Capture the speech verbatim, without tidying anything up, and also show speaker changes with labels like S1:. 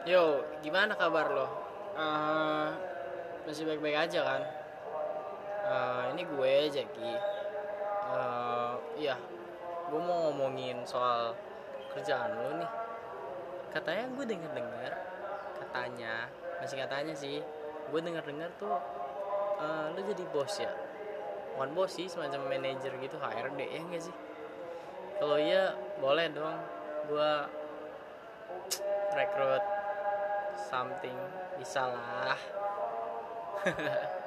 S1: Yo, gimana kabar lo? Eh, masih baik-baik aja kan? Eh, ini gue Jackie. Eh, iya, gue mau ngomongin soal kerjaan lo nih. Katanya gue denger-dengar, katanya, masih katanya sih, gue denger-dengar tuh eh, lo jadi bos ya? Bukan bos sih, semacam manajer gitu, H R D ya nggak sih? Kalau iya, boleh dong. Gue rekrut something, bisa lah.